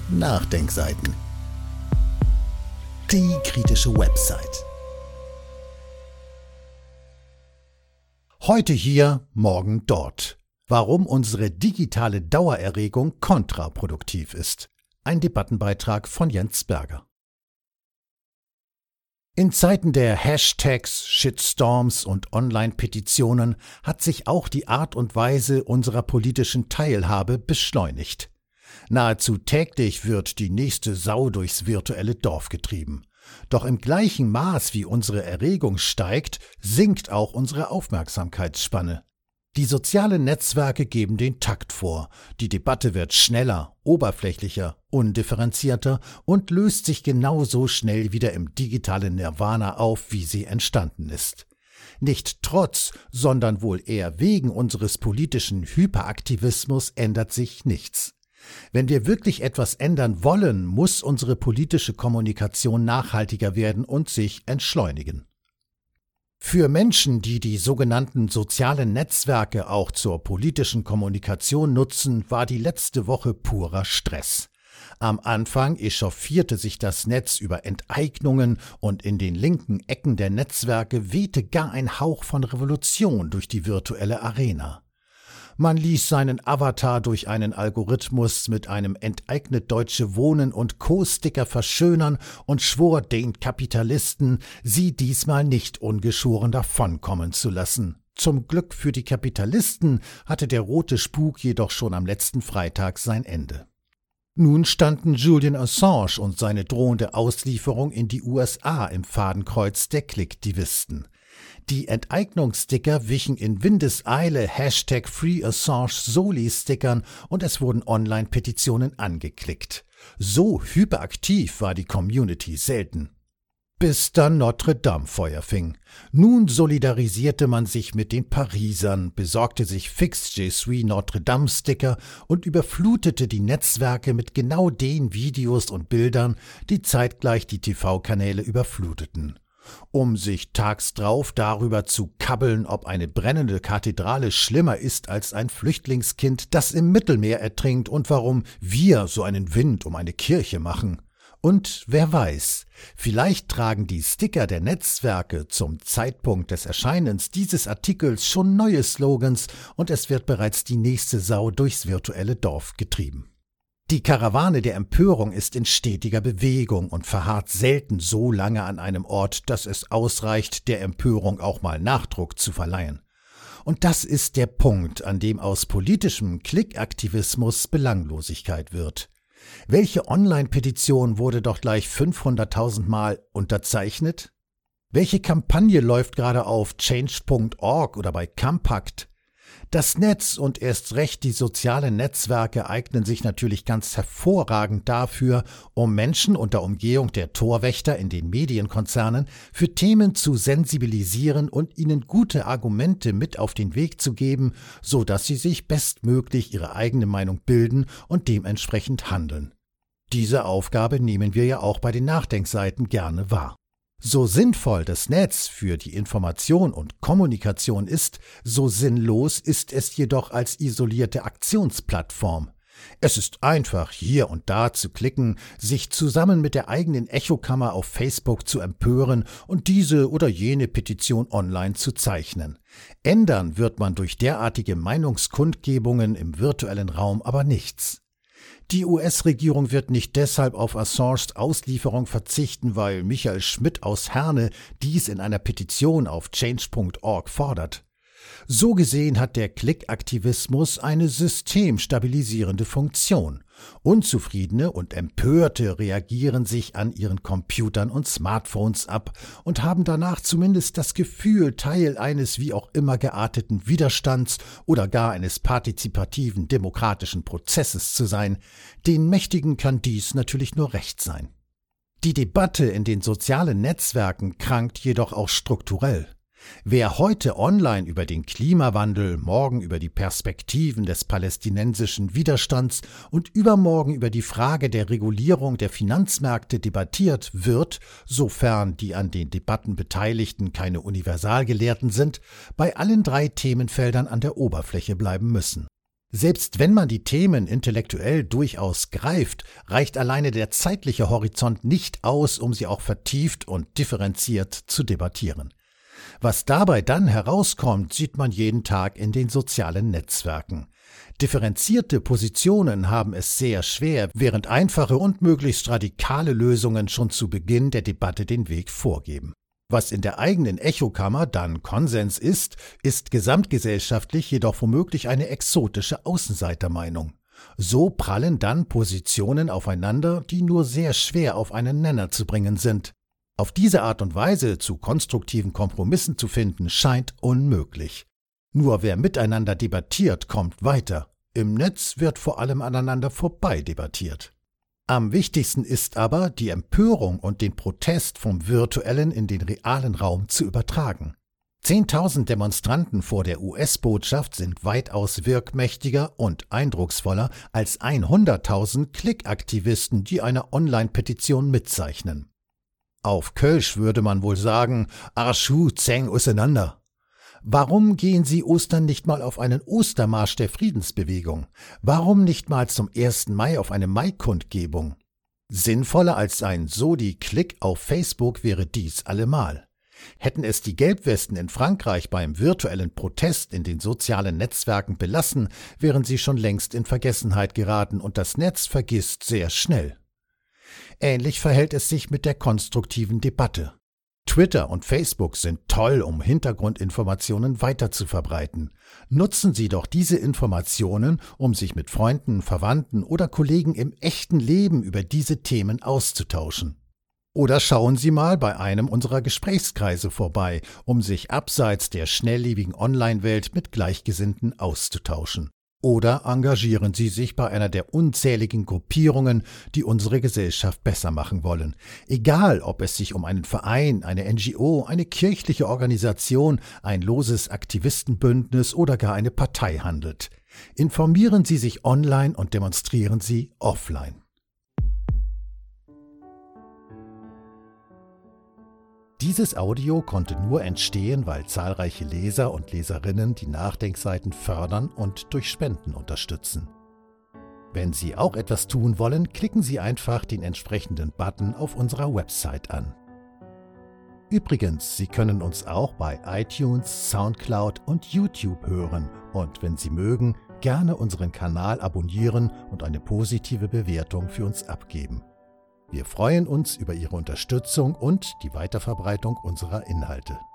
Nachdenkseiten. Die kritische Website. Heute hier, morgen dort. Warum unsere digitale Dauererregung kontraproduktiv ist. Ein Debattenbeitrag von Jens Berger. In Zeiten der Hashtags, Shitstorms und Online-Petitionen hat sich auch die Art und Weise unserer politischen Teilhabe beschleunigt. Nahezu täglich wird die nächste Sau durchs virtuelle Dorf getrieben. Doch im gleichen Maß wie unsere Erregung steigt, sinkt auch unsere Aufmerksamkeitsspanne. Die sozialen Netzwerke geben den Takt vor. Die Debatte wird schneller, oberflächlicher, undifferenzierter und löst sich genauso schnell wieder im digitalen Nirvana auf, wie sie entstanden ist. Nicht trotz, sondern wohl eher wegen unseres politischen Hyperaktivismus ändert sich nichts. Wenn wir wirklich etwas ändern wollen, muss unsere politische Kommunikation nachhaltiger werden und sich entschleunigen. Für Menschen, die die sogenannten sozialen Netzwerke auch zur politischen Kommunikation nutzen, war die letzte Woche purer Stress. Am Anfang echauffierte sich das Netz über Enteignungen und in den linken Ecken der Netzwerke wehte gar ein Hauch von Revolution durch die virtuelle Arena. Man ließ seinen Avatar durch einen Algorithmus mit einem Enteignet Deutsche Wohnen und Co-Sticker verschönern und schwor den Kapitalisten, sie diesmal nicht ungeschoren davonkommen zu lassen. Zum Glück für die Kapitalisten hatte der rote Spuk jedoch schon am letzten Freitag sein Ende. Nun standen Julian Assange und seine drohende Auslieferung in die USA im Fadenkreuz der Klickdivisten. Die Enteignungssticker wichen in Windeseile #FreeAssange-Soli-Stickern und es wurden Online-Petitionen angeklickt. So hyperaktiv war die Community selten. Bis dann Notre Dame Feuer fing. Nun solidarisierte man sich mit den Parisern, besorgte sich fix Je suis Notre Dame Sticker und überflutete die Netzwerke mit genau den Videos und Bildern, die zeitgleich die TV-Kanäle überfluteten. Um sich tags drauf darüber zu kabbeln, ob eine brennende Kathedrale schlimmer ist als ein Flüchtlingskind, das im Mittelmeer ertrinkt und warum wir so einen Wind um eine Kirche machen. Und wer weiß, vielleicht tragen die Sticker der Netzwerke zum Zeitpunkt des Erscheinens dieses Artikels schon neue Slogans und es wird bereits die nächste Sau durchs virtuelle Dorf getrieben. Die Karawane der Empörung ist in stetiger Bewegung und verharrt selten so lange an einem Ort, dass es ausreicht, der Empörung auch mal Nachdruck zu verleihen. Und das ist der Punkt, an dem aus politischem Klickaktivismus Belanglosigkeit wird. Welche Online-Petition wurde doch gleich 500.000 Mal unterzeichnet? Welche Kampagne läuft gerade auf Change.org oder bei Compact? Das Netz und erst recht die sozialen Netzwerke eignen sich natürlich ganz hervorragend dafür, um Menschen unter Umgehung der Torwächter in den Medienkonzernen für Themen zu sensibilisieren und ihnen gute Argumente mit auf den Weg zu geben, so dass sie sich bestmöglich ihre eigene Meinung bilden und dementsprechend handeln. Diese Aufgabe nehmen wir ja auch bei den Nachdenkseiten gerne wahr. So sinnvoll das Netz für die Information und Kommunikation ist, so sinnlos ist es jedoch als isolierte Aktionsplattform. Es ist einfach, hier und da zu klicken, sich zusammen mit der eigenen Echokammer auf Facebook zu empören und diese oder jene Petition online zu zeichnen. Ändern wird man durch derartige Meinungskundgebungen im virtuellen Raum aber nichts. Die US-Regierung wird nicht deshalb auf Assanges Auslieferung verzichten, weil Michael Schmidt aus Herne dies in einer Petition auf Change.org fordert. So gesehen hat der Klickaktivismus eine systemstabilisierende Funktion. Unzufriedene und Empörte reagieren sich an ihren Computern und Smartphones ab und haben danach zumindest das Gefühl, Teil eines wie auch immer gearteten Widerstands oder gar eines partizipativen demokratischen Prozesses zu sein. Den Mächtigen kann dies natürlich nur recht sein. Die Debatte in den sozialen Netzwerken krankt jedoch auch strukturell. Wer heute online über den Klimawandel, morgen über die Perspektiven des palästinensischen Widerstands und übermorgen über die Frage der Regulierung der Finanzmärkte debattiert, wird, sofern die an den Debatten Beteiligten keine Universalgelehrten sind, bei allen drei Themenfeldern an der Oberfläche bleiben müssen. Selbst wenn man die Themen intellektuell durchaus greift, reicht alleine der zeitliche Horizont nicht aus, um sie auch vertieft und differenziert zu debattieren. Was dabei dann herauskommt, sieht man jeden Tag in den sozialen Netzwerken. Differenzierte Positionen haben es sehr schwer, während einfache und möglichst radikale Lösungen schon zu Beginn der Debatte den Weg vorgeben. Was in der eigenen Echokammer dann Konsens ist gesamtgesellschaftlich jedoch womöglich eine exotische Außenseitermeinung. So prallen dann Positionen aufeinander, die nur sehr schwer auf einen Nenner zu bringen sind. Auf diese Art und Weise zu konstruktiven Kompromissen zu finden, scheint unmöglich. Nur wer miteinander debattiert, kommt weiter. Im Netz wird vor allem aneinander vorbei debattiert. Am wichtigsten ist aber, die Empörung und den Protest vom virtuellen in den realen Raum zu übertragen. 10.000 Demonstranten vor der US-Botschaft sind weitaus wirkmächtiger und eindrucksvoller als 100.000 Klickaktivisten, die eine Online-Petition mitzeichnen. Auf Kölsch würde man wohl sagen, Arschu zäng auseinander. Warum gehen Sie Ostern nicht mal auf einen Ostermarsch der Friedensbewegung? Warum nicht mal zum 1. Mai auf eine Maikundgebung? Sinnvoller als ein Sodi-Klick auf Facebook wäre dies allemal. Hätten es die Gelbwesten in Frankreich beim virtuellen Protest in den sozialen Netzwerken belassen, wären sie schon längst in Vergessenheit geraten und das Netz vergisst sehr schnell. Ähnlich verhält es sich mit der konstruktiven Debatte. Twitter und Facebook sind toll, um Hintergrundinformationen weiterzuverbreiten. Nutzen Sie doch diese Informationen, um sich mit Freunden, Verwandten oder Kollegen im echten Leben über diese Themen auszutauschen. Oder schauen Sie mal bei einem unserer Gesprächskreise vorbei, um sich abseits der schnelllebigen Online-Welt mit Gleichgesinnten auszutauschen. Oder engagieren Sie sich bei einer der unzähligen Gruppierungen, die unsere Gesellschaft besser machen wollen. Egal, ob es sich um einen Verein, eine NGO, eine kirchliche Organisation, ein loses Aktivistenbündnis oder gar eine Partei handelt. Informieren Sie sich online und demonstrieren Sie offline. Dieses Audio konnte nur entstehen, weil zahlreiche Leser und Leserinnen die Nachdenkseiten fördern und durch Spenden unterstützen. Wenn Sie auch etwas tun wollen, klicken Sie einfach den entsprechenden Button auf unserer Website an. Übrigens, Sie können uns auch bei iTunes, Soundcloud und YouTube hören und wenn Sie mögen, gerne unseren Kanal abonnieren und eine positive Bewertung für uns abgeben. Wir freuen uns über Ihre Unterstützung und die Weiterverbreitung unserer Inhalte.